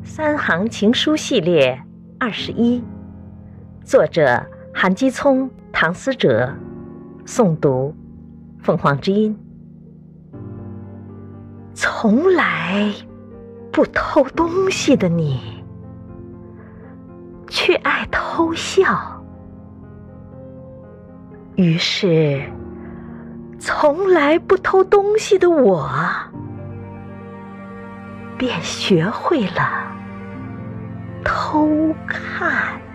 三行情书系列21，作者韩基聪、唐思哲，诵读凤凰之音。从来不偷东西的你，却爱偷笑，于是从来不偷东西的我，便学会了偷看。